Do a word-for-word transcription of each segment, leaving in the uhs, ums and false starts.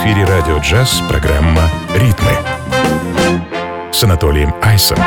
эфире радио «Джаз» программа «Ритмы» с Анатолием Айсом.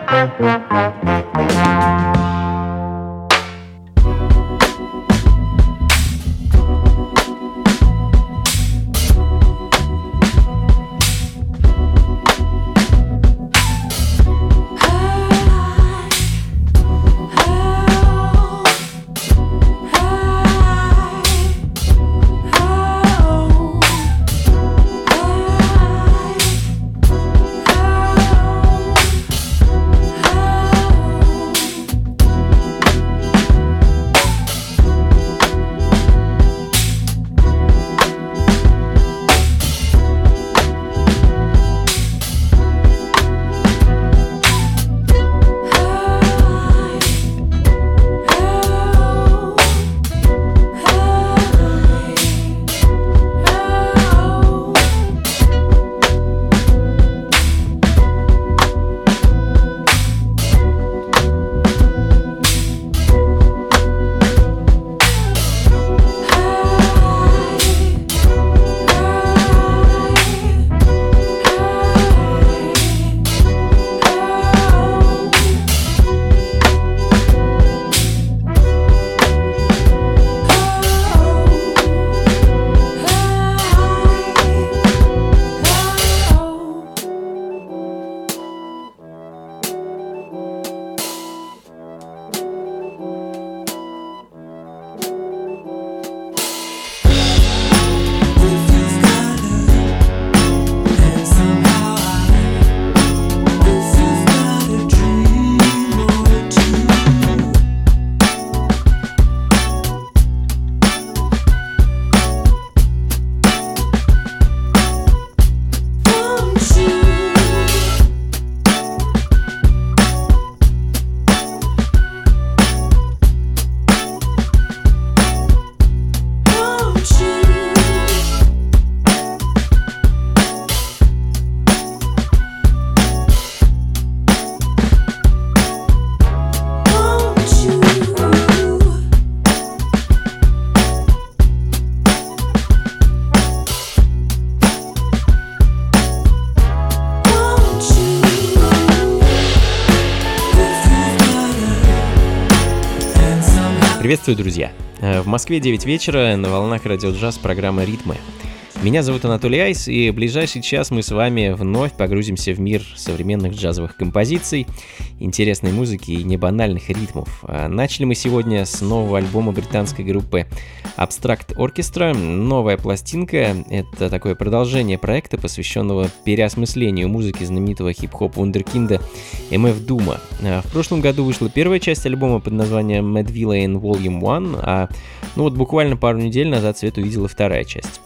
Приветствую, друзья! В Москве девять вечера, на волнах радио «Джаз» программа «Ритмы». Меня зовут Анатолий Айс, и в ближайший час мы с вами вновь погрузимся в мир современных джазовых композиций, интересной музыки и небанальных ритмов. Начали мы сегодня с нового альбома британской группы Abstract Orchestra. Новая пластинка — это такое продолжение проекта, посвященного переосмыслению музыки знаменитого хип-хоп вундеркинда эм эф Doom. В прошлом году вышла первая часть альбома под названием Mad Villain Volume один, а ну вот буквально пару недель назад свет увидела вторая часть.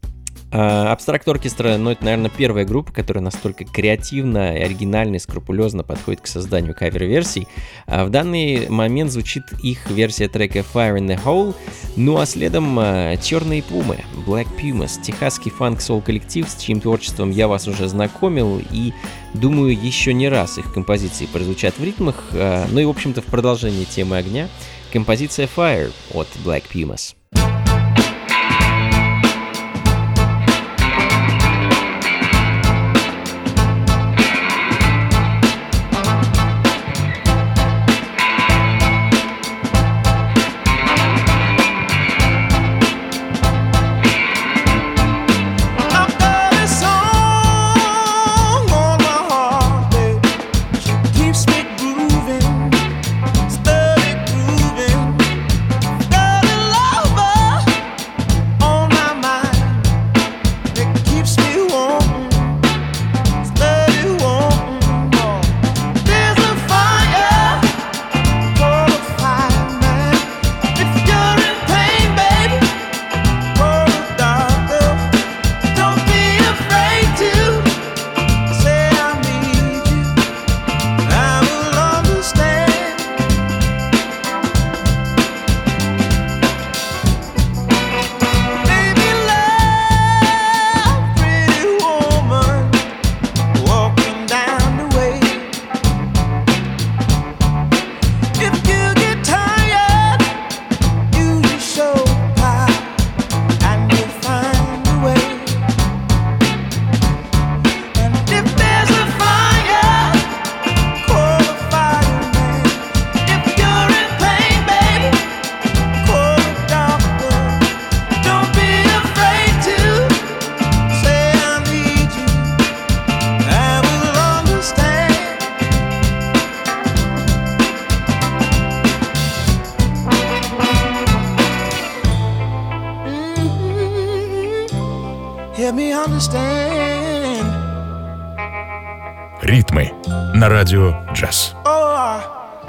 Abstract Orchestra, ну, это, наверное, первая группа, которая настолько креативно, оригинально и скрупулезно подходит к созданию кавер-версий. А в данный момент звучит их версия трека Fire in the Hole, ну а следом Черные Пумы, Black Pumas, техасский фанк-сол коллектив, с чьим творчеством я вас уже знакомил, и думаю, еще не раз их композиции прозвучат в ритмах. Ну и, в общем-то, в продолжении темы огня, композиция Fire от Black Pumas. Love me understand. Ритмы на радио джаз. Oh, I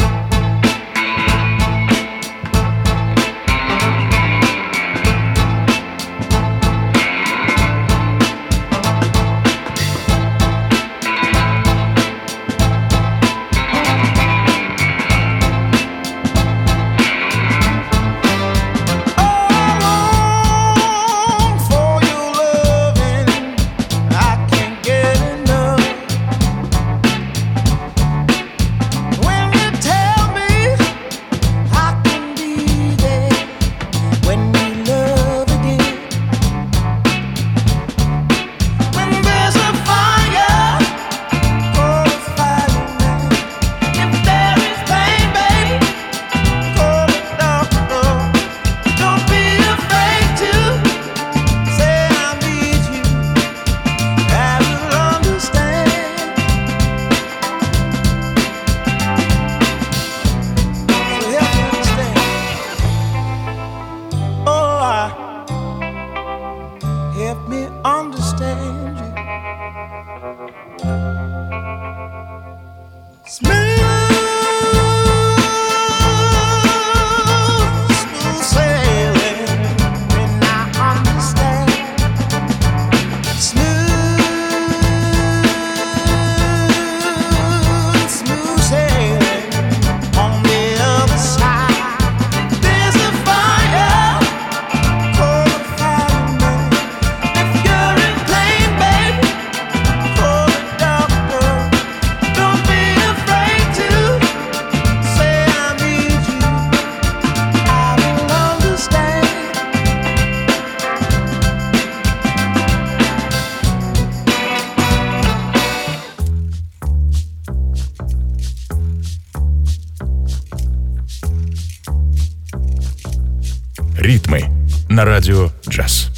Ритмы на радио джаз.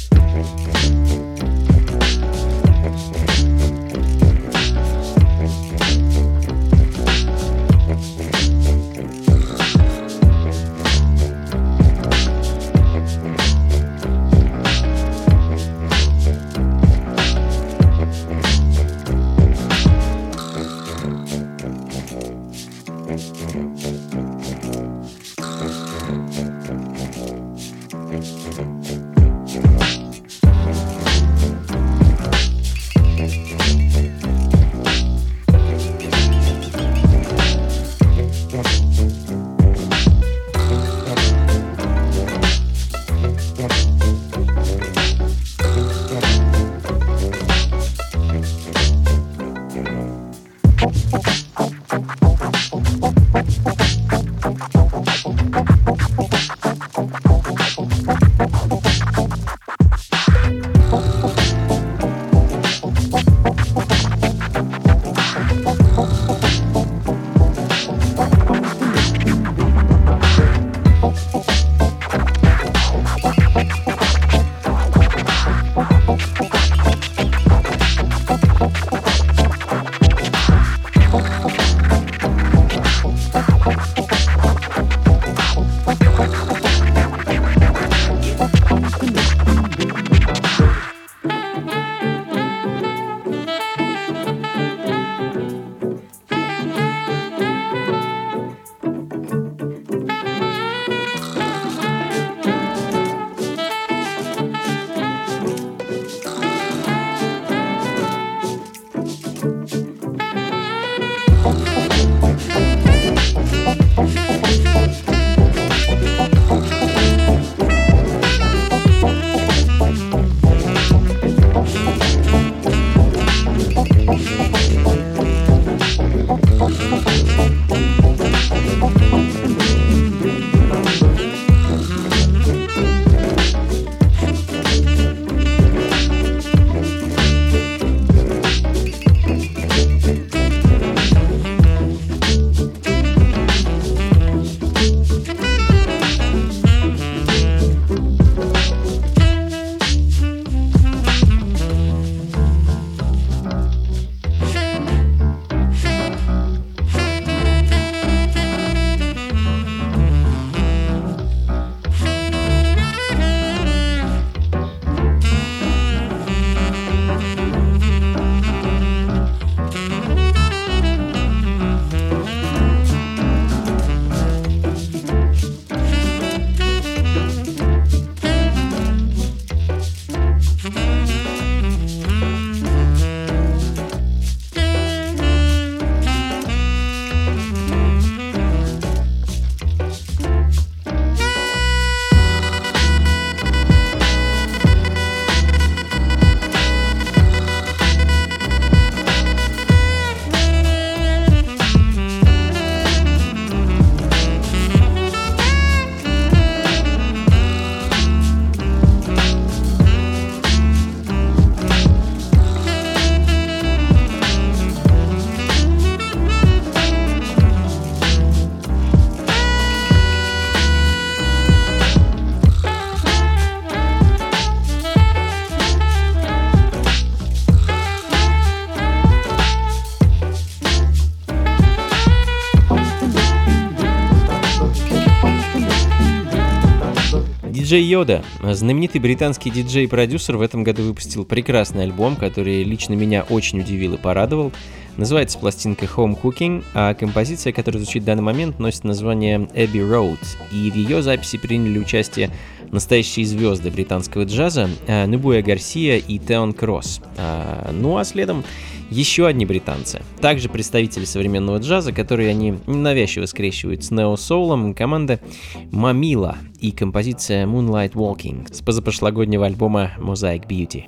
Диджей Йода, знаменитый британский диджей и продюсер, в этом году выпустил прекрасный альбом, который лично меня очень удивил и порадовал. Называется пластинка Home Cooking, а композиция, которая звучит в данный момент, носит название Abbey Road, и в ее записи приняли участие настоящие звезды британского джаза Нубуя Гарсия и Теон Кросс. Ну а следом еще одни британцы, также представители современного джаза, которые они ненавязчиво скрещивают с нео-соулом, команда Мамила и композиция Moonlight Walking с позапрошлогоднего альбома Mosaic Beauty.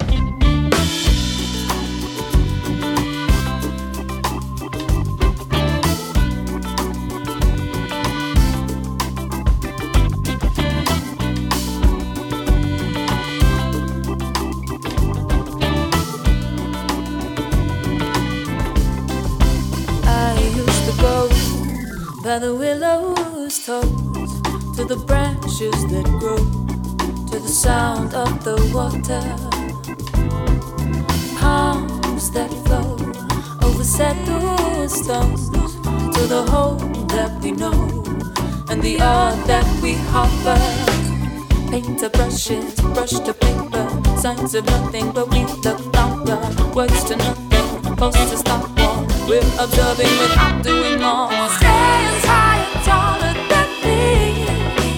By the willow's toes, to the branches that grow, to the sound of the water, palms that flow over settled stones, to the home that we know, and the art that we harbor. Painter brushes, brush to paper, signs of nothing but we look longer, words to nothing, posters stop war. We're observing without doing more. Stands high and taller than me,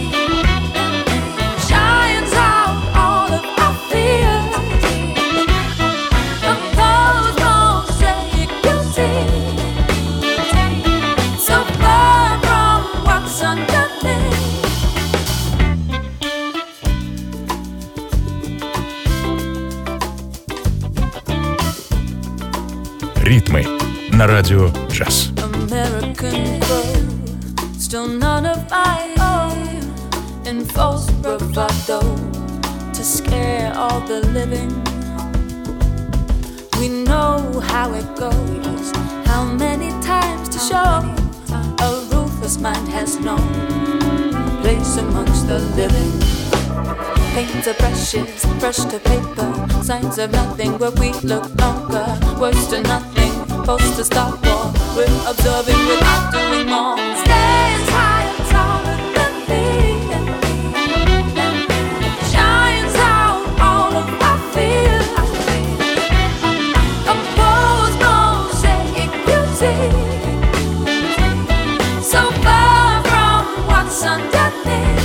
shines out all of our fears. Compose mosaic beauty, so far from what's underneath. Ритмы на радио джаз. American girl, still none of my own, in false bravado to scare all the living. We know how it goes, how many times to show a ruthless mind has no place amongst the living. Paint to brushes, brush to paper, signs of nothing where we look longer, words to nothing, post to stop war. We're observing without doing more. Stands high and taller than me, shines out all of our fears. Compose mosaic beauty, so far from what's underneath.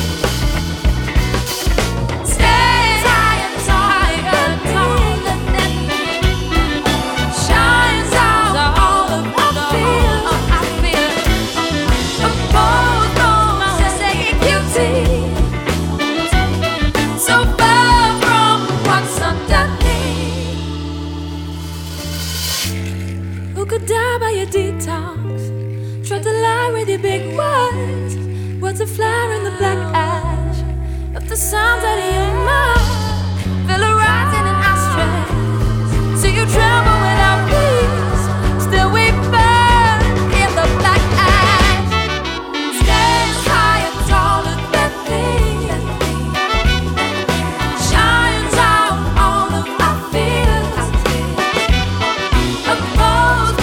Die by your detox, try to lie with your big words, words of flower in the black ash of the sounds out of your mouth. Feel a rising in our stress, so you tremble without peace. Still we burn in the black ash. Stands high and taller than me, shines out all of our fears. Above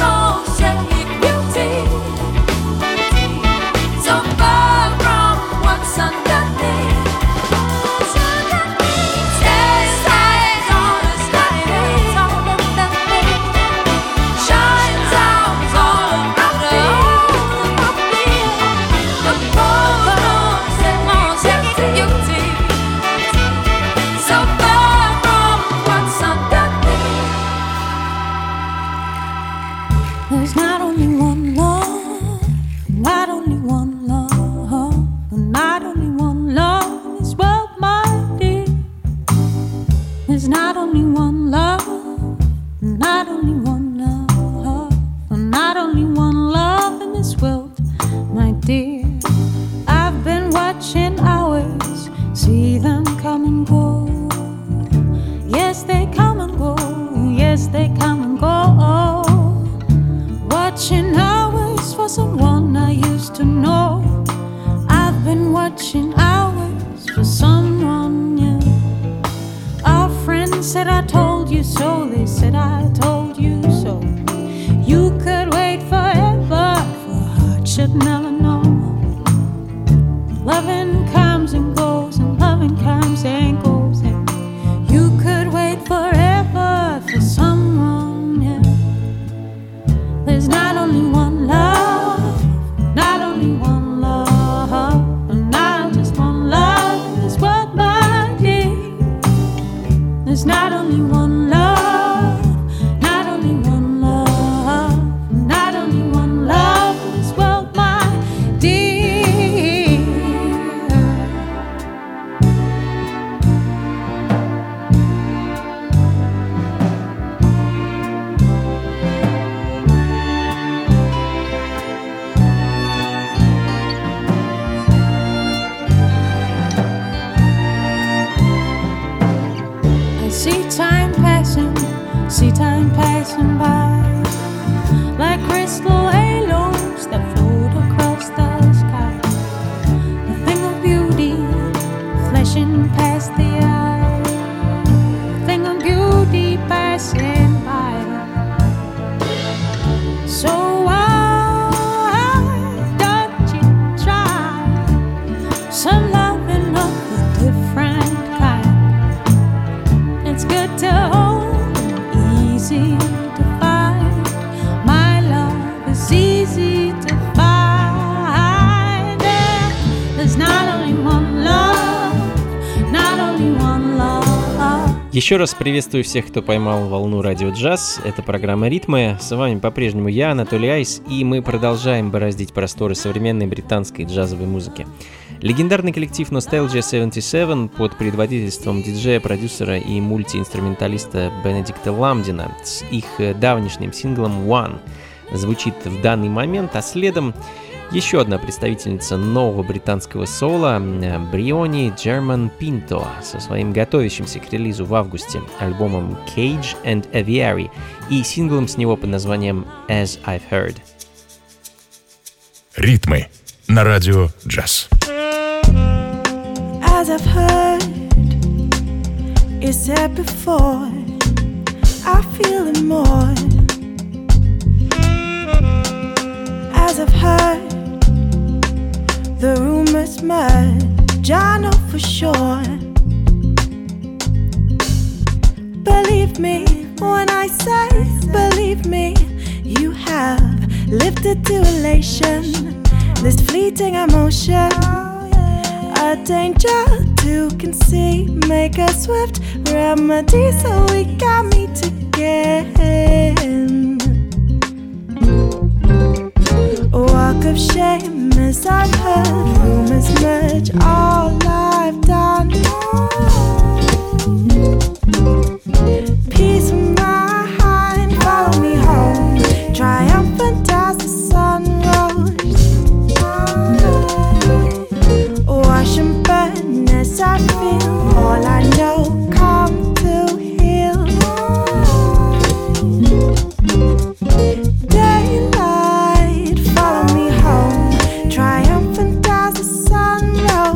there's not only one love, not only one love, not only one love in this world, my dear. There's not only one love, not only one love, not only one love in this world, my dear. I've been watching hours, see them come and go. Yes, they come and go, yes, they come and go. Watching hours for someone I used to know. I've been watching hours for someone new. Our friends said I told you so, they said I told you so. You could wait forever, for heart should never know. Loving comes and goes, and loving comes comes and goes, and you could wait forever for someone, yeah. There's not only one love, not only one love, not just one love in this world, my dear. There's not only one love, not only one love, not only one love in this world, my dear. I see time passing, see time passing by, like crystal halos that float across the sky. A thing of beauty flashing past the eye, a thing of beauty passing by. So why don't you try some loving of a different kind? It's good to hold and easy to find. My love is easy to find. Yeah. There's not only one love, not only one love. Еще раз приветствую всех, кто поймал волну радио джаз. Это программа «Ритмы». С вами по-прежнему я, Анатолий Айс, и мы продолжаем бороздить просторы современной британской джазовой музыки. Легендарный коллектив Nostalgia семьдесят семь под предводительством диджея, продюсера и мультиинструменталиста Бенедикта Ламдина с их давнишним синглом «One» звучит в данный момент, а следом еще одна представительница нового британского соло Бриони Джерман Пинто со своим готовящимся к релизу в августе альбомом Cage and Aviary и синглом с него под названием As I've Heard. Ритмы на радио джаз. As I've heard, you said before, I feel it more. As I've heard, the rumors merge, I know for sure. Believe me when I say, believe me, you have lifted to elation, this fleeting emotion. A danger to conceive, make a swift remedy so we can meet again. A walk of shame as I've heard, rumors merge all I've done. Peace of mind, follow me home, triumphant as the sun rose. Wash and burn as I feel all I know come to heal. Daylight, follow me home, triumphant as the sun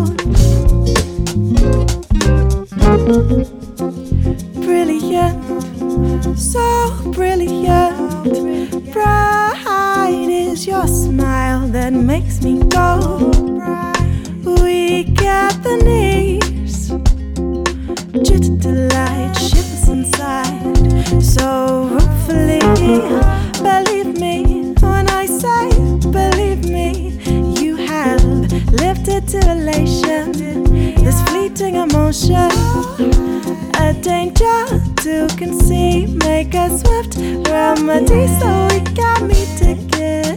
rose. Brilliant, so brilliant, bright is your smile that makes me go. Weak at the knees, jittered delight shivers inside. So ruefully, believe me when I say, believe me, you have lifted to elation, this fleeting emotion. A danger to conceive, make a swift remedy so we can meet again.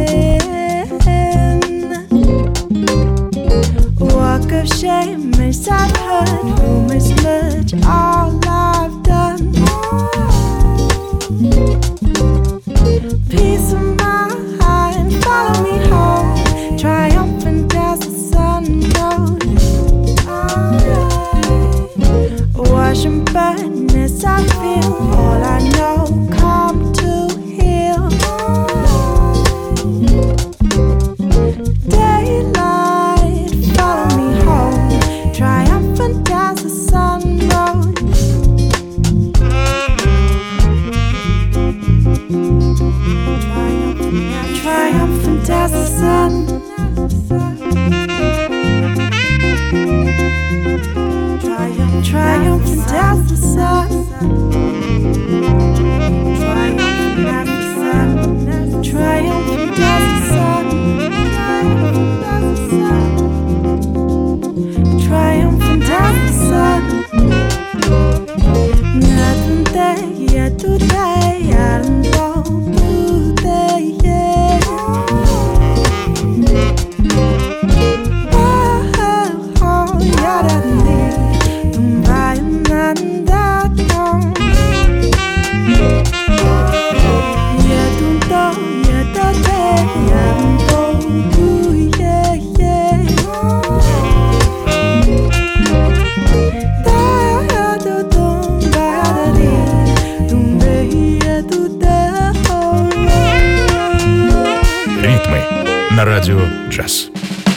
Walk of shame as I've heard, rumors merge all I've done. Peace of mind, follow me home, triumphant as the sun rose. Wash and burn as I feel all I know come to heal. Daylight, follow me home, triumphant as the sun rose. На радио «Джаз».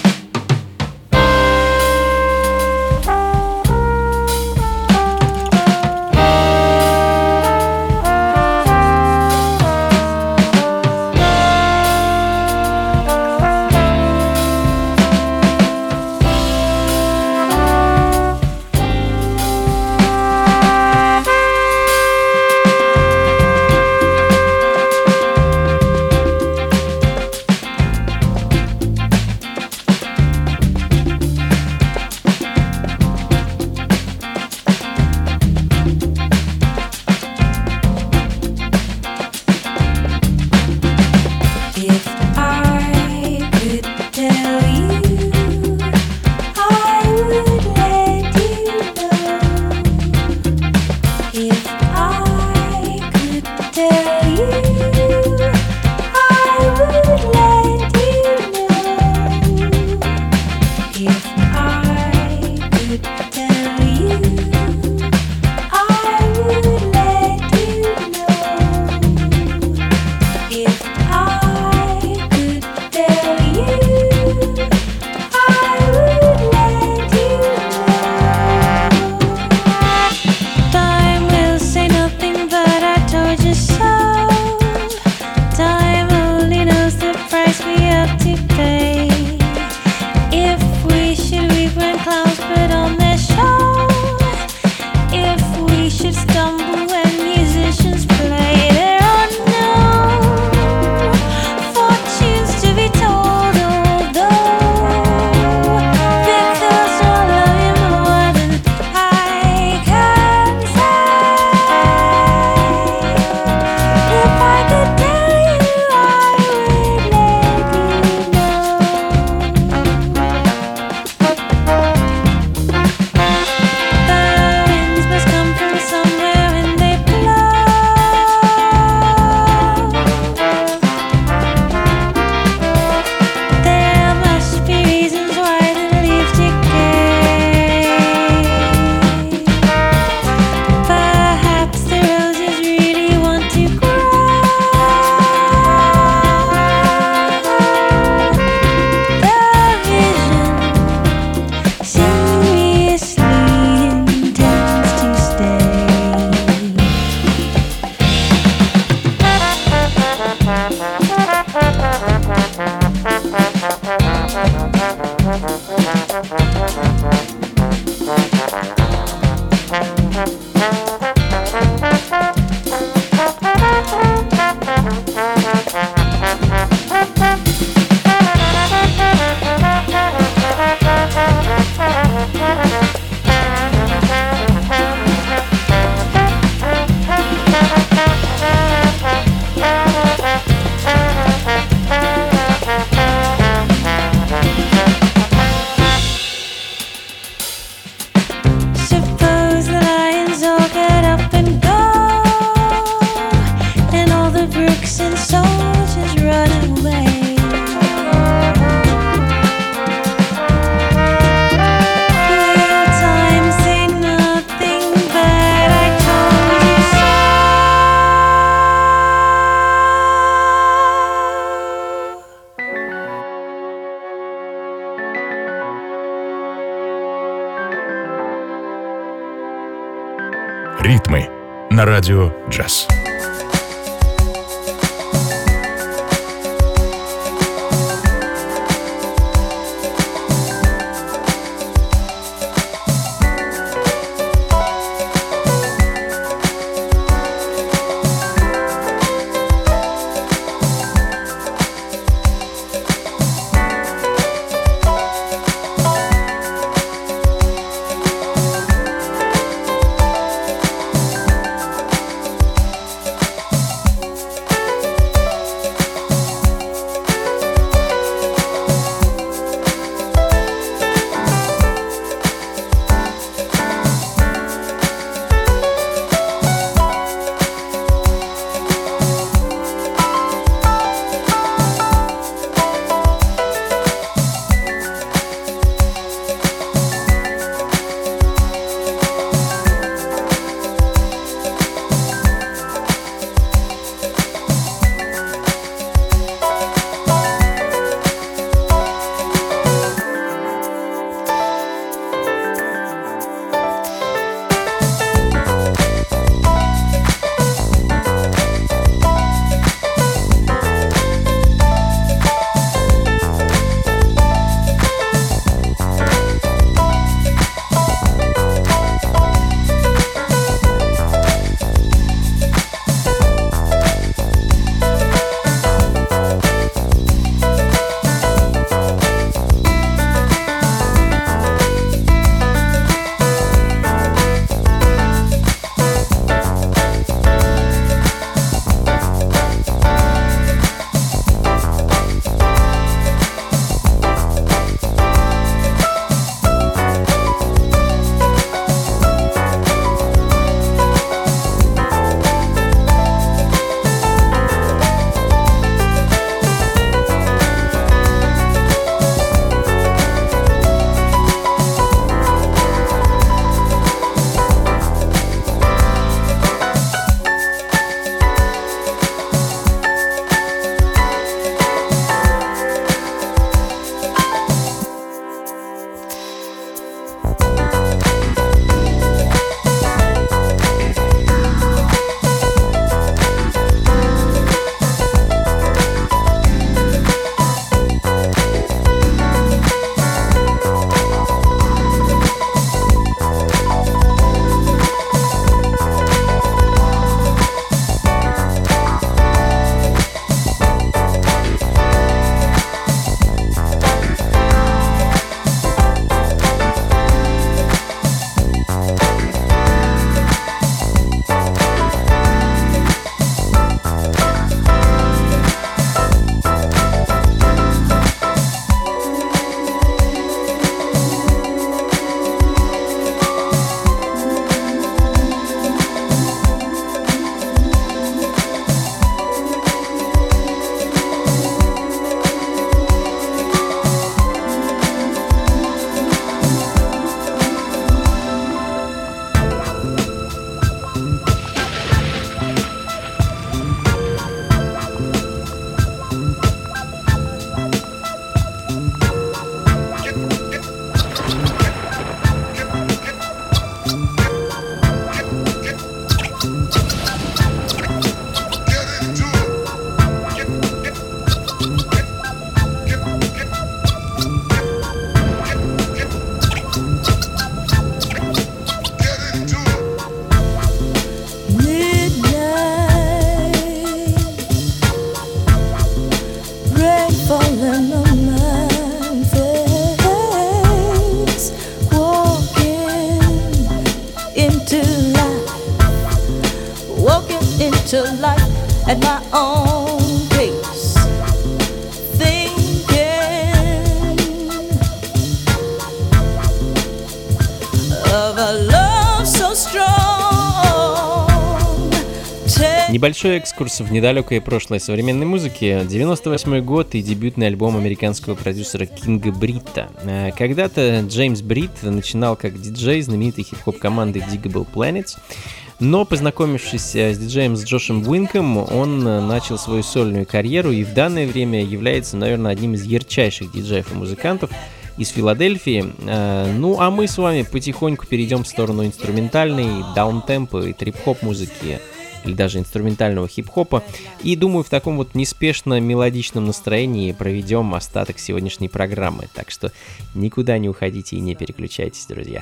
«Ритмы» на радио «Джаз». to life at my own pace, thinking of a love so strong. Небольшой экскурс в недалекое прошлое современной музыки. девяносто восьмой год и дебютный альбом американского продюсера Кинга Бритта. Когда-то Джеймс Бритт начинал как диджей знаменитой хип-хоп команды Digable Planets, но, познакомившись с диджеем с Джошем Уинком, он начал свою сольную карьеру и в данное время является, наверное, одним из ярчайших диджеев и музыкантов из Филадельфии. Ну, а мы с вами потихоньку перейдем в сторону инструментальной, даунтемпа и трип-хоп музыки, или даже инструментального хип-хопа. И думаю, в таком вот неспешно мелодичном настроении проведем остаток сегодняшней программы. Так что никуда не уходите и не переключайтесь, друзья.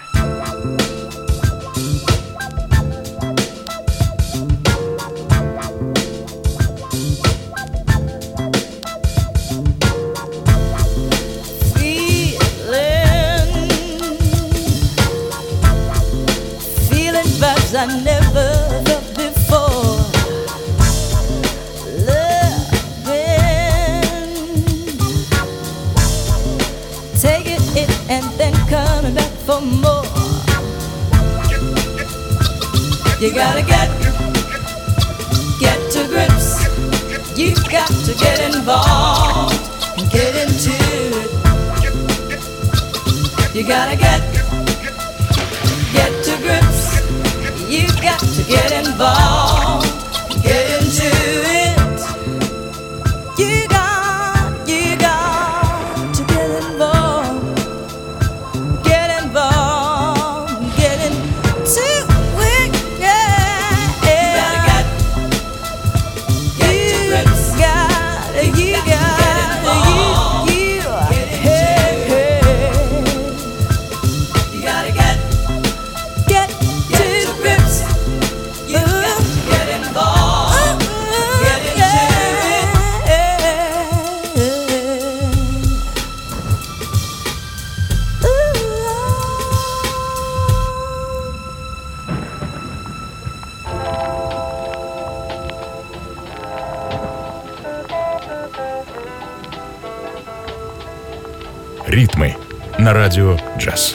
I never felt before. Loving, taking it and then coming back for more. You gotta get, get to grips. You got to get involved and get into it. You gotta get, get to grips. You got to get involved, get into it. You got, you got to get involved, get involved, get into it. Yeah, yeah. You gotta get, get to grips. Got, you got, you, you, hey, hey. You gotta get, get. Ритмы на радио «Джаз».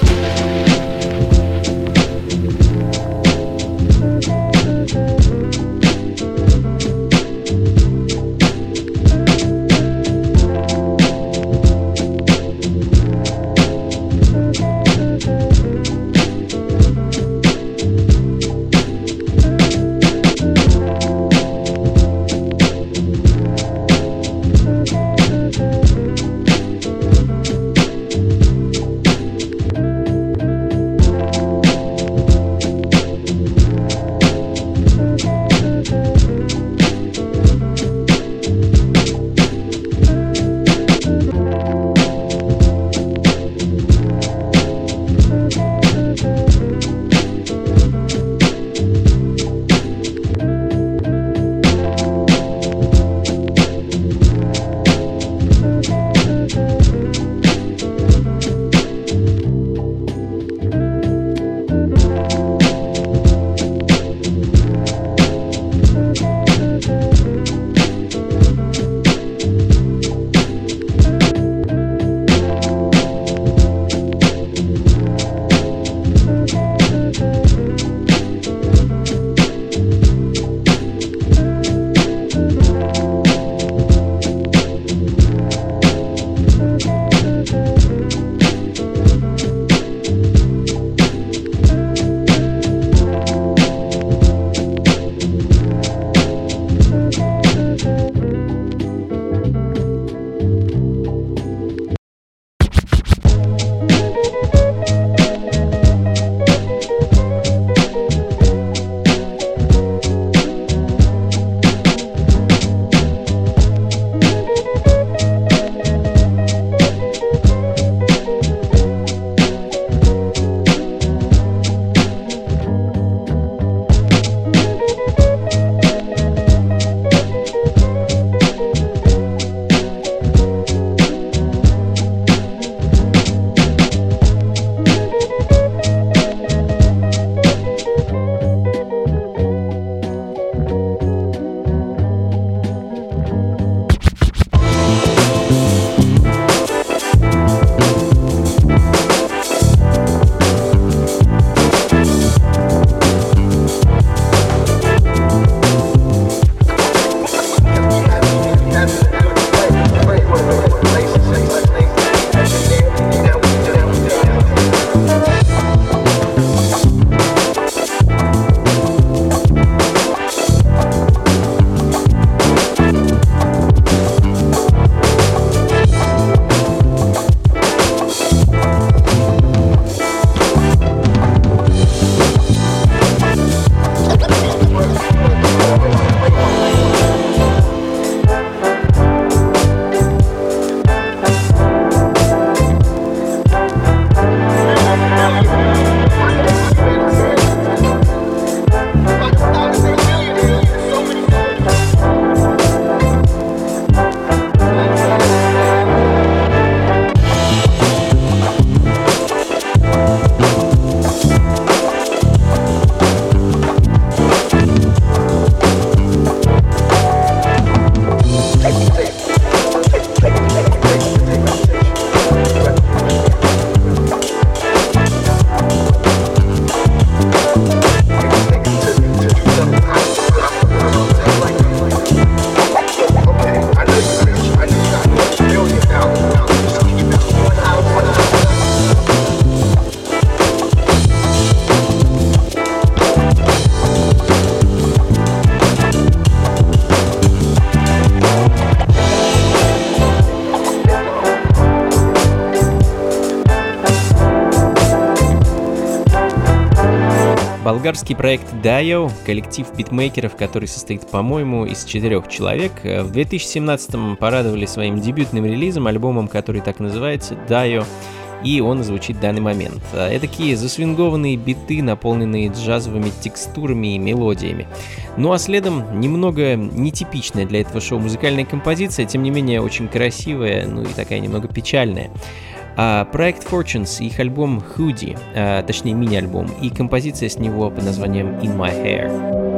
Болгарский проект Dio, коллектив битмейкеров, который состоит, по-моему, из четырех человек, в две тысячи семнадцатом порадовали своим дебютным релизом, альбомом, который так называется, Dio, и он звучит в данный момент. Эдакие засвингованные биты, наполненные джазовыми текстурами и мелодиями. Ну а следом немного нетипичная для этого шоу музыкальная композиция, тем не менее очень красивая, ну и такая немного печальная. А проект Fortunes, их альбом Hoodie, а, точнее мини-альбом, и композиция с него под названием In My Hair.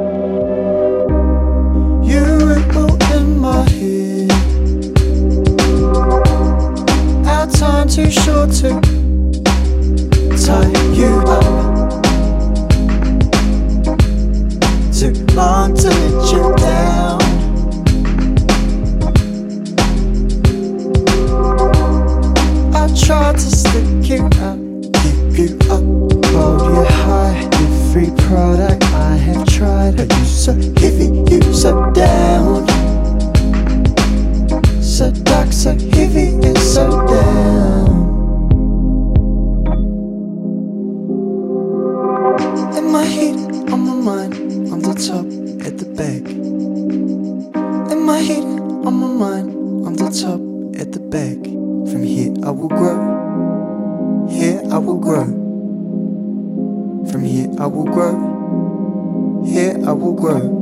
Time too short to tie you up, too long to let you down. I tried to stick you up, keep you up, hold you high. Every product I have tried, but you so heavy, you so down. So dark, so heavy, and so down. In my head, on my mind, on the top, at the back. In my head, on my mind, on the top, at the back. From here I will grow, here I will grow. From here I will grow, here I will grow.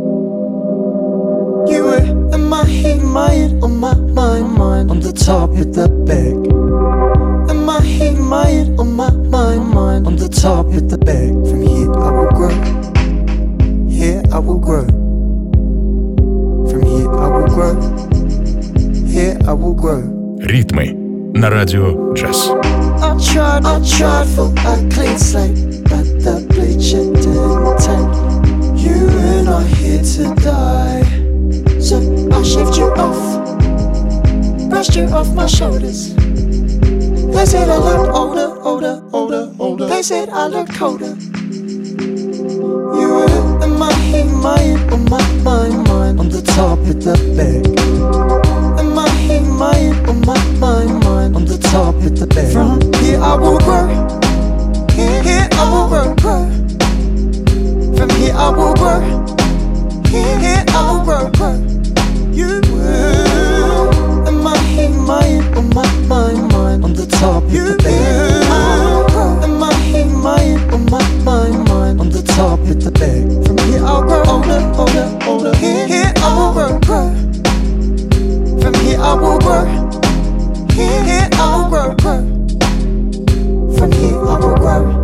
You were in my head, my head, on my mind, mind, on the top, at the back. In my head, my head, on my mind, mind, on the top, at the back. From here I will grow, here I will grow. From here I will grow, here I will grow. Ритмы на радио джаз. I tried, I tried for a clean slate, but the bleacher didn't take. You and I here to die. So I shaved you off, brushed you off my shoulders. They said I looked older, older, older, older. They said I looked colder. You were in my head, my head, on my mind, mind, on the top, at the back. In my head, my head, on my mind, mind, on the top, at the back. From here I will grow, here, here I will grow, grow. From here I will grow, here, here I will grow, grow. You were in my head, my head, on my mind, mind, on the top, at the back. In my head, my head, on my mind, mind, on the top, at the back. From here I'll grow older, older, older. Here, here I will grow, grow. From here I will grow, here, here I will grow, grow. From here I will grow.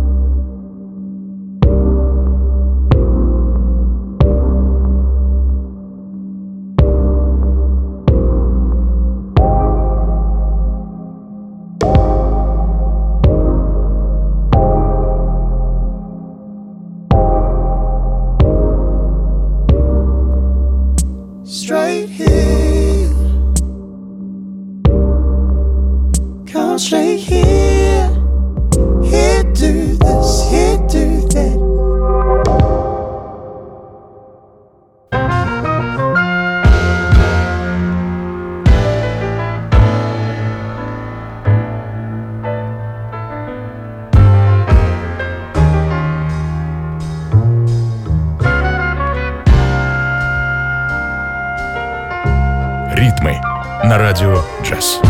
Straight here, come straight here. Here do this, here do that. Ритмы на радио джаз.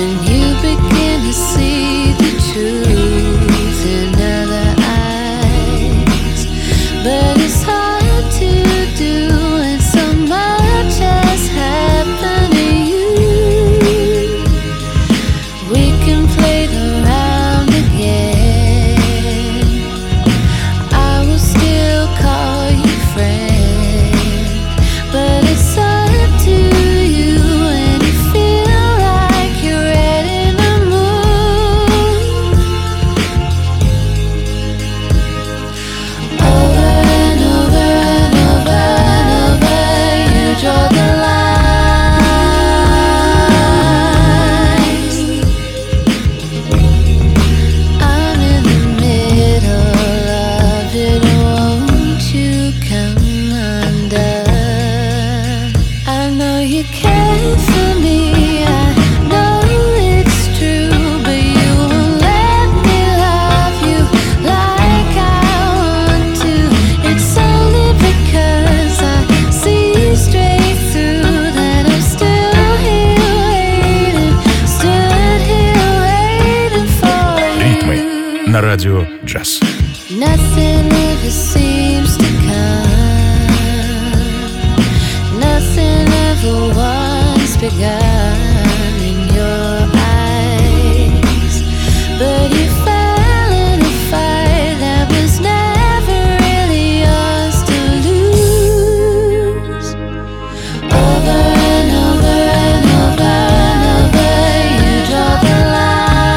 на радио «Джаз». Nothing ever seems to come. Nothing ever once begun in your eyes. But you fell in a fight that was never really yours to lose. Over and over and over and over, you draw the line.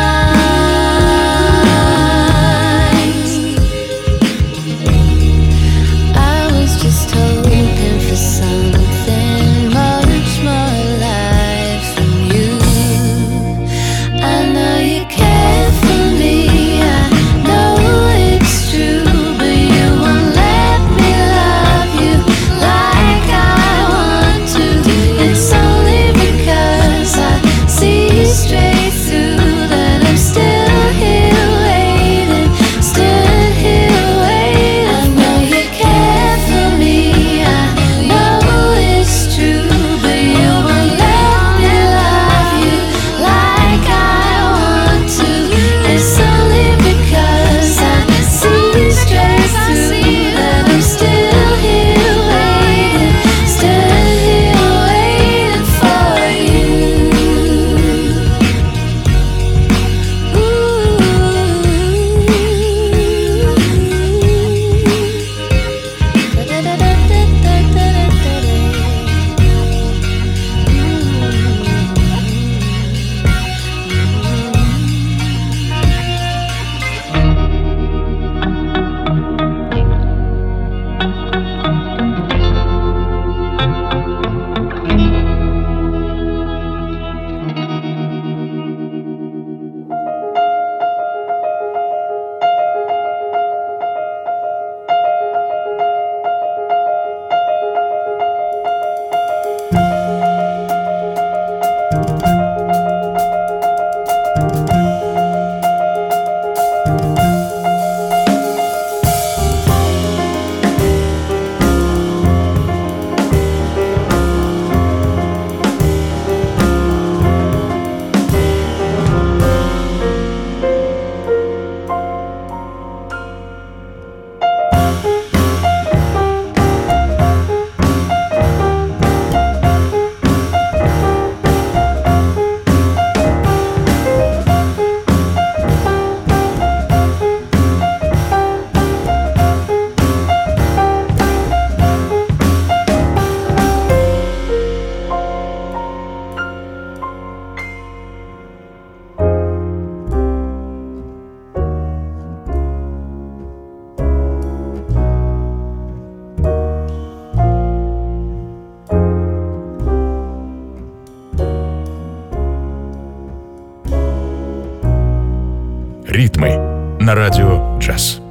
Ритмы на радио «Джаз».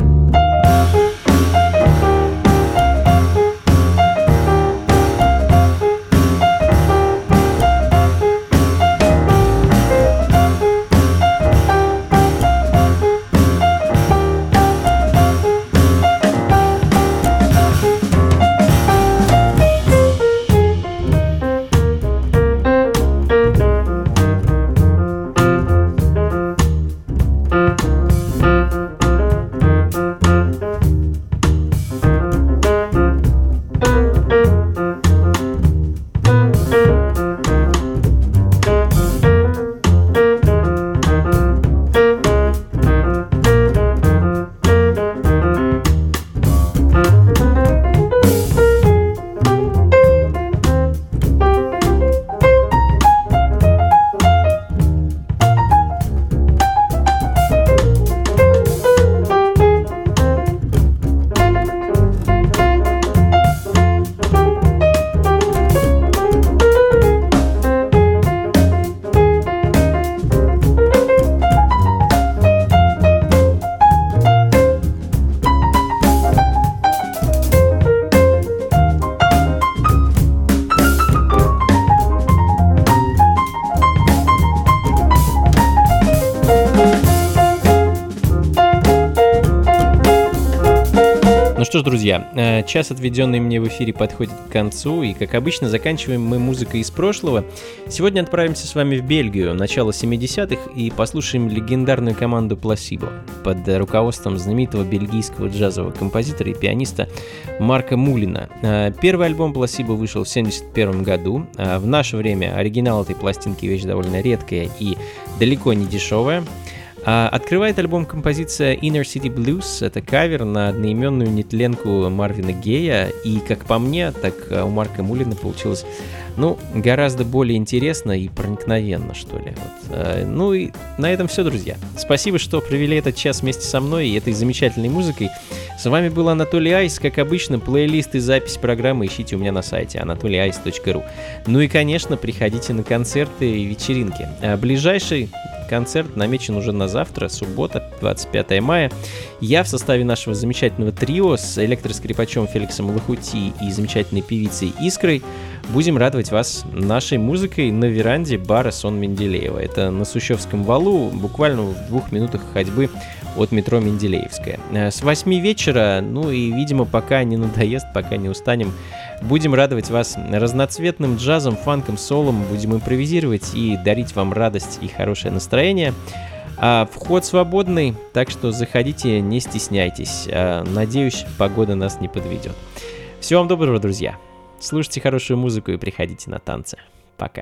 что ж, друзья, час, отведенный мне в эфире, подходит к концу, и, как обычно, заканчиваем мы музыкой из прошлого. Сегодня отправимся с вами в Бельгию, начало семидесятых, и послушаем легендарную команду Placebo под руководством знаменитого бельгийского джазового композитора и пианиста Марка Мулина. Первый альбом Placebo вышел в семьдесят первом году. В наше время оригинал этой пластинки — вещь довольно редкая и далеко не дешевая. Открывает альбом композиция Inner City Blues. Это кавер на одноименную нетленку Марвина Гея. И как по мне, так у Марка Мулина получилось, ну, гораздо более интересно и проникновенно, что ли. Вот. Ну и на этом все, друзья. Спасибо, что провели этот час вместе со мной и этой замечательной музыкой. С вами был Анатолий Айс. Как обычно, плейлист и запись программы ищите у меня на сайте анатолий айс точка ру. Ну и, конечно, приходите на концерты и вечеринки. А ближайший концерт намечен уже на завтра, суббота, двадцать пятого мая. Я в составе нашего замечательного трио с электроскрипачом Феликсом Лохути и замечательной певицей Искрой будем радовать вас нашей музыкой на веранде бара Сон Менделеева. Это на Сущевском валу, буквально в двух минутах ходьбы от метро Менделеевская. С восьми вечера, ну и, видимо, пока не надоест, пока не устанем, будем радовать вас разноцветным джазом, фанком, солом, будем импровизировать и дарить вам радость и хорошее настроение. А вход свободный, так что заходите, не стесняйтесь. А, надеюсь, погода нас не подведет. Всего вам доброго, друзья. Слушайте хорошую музыку и приходите на танцы. Пока.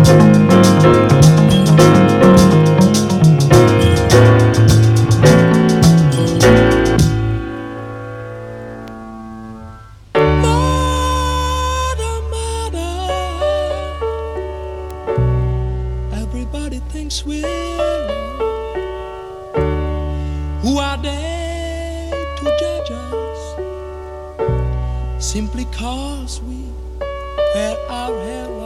Simply cause we wear our hair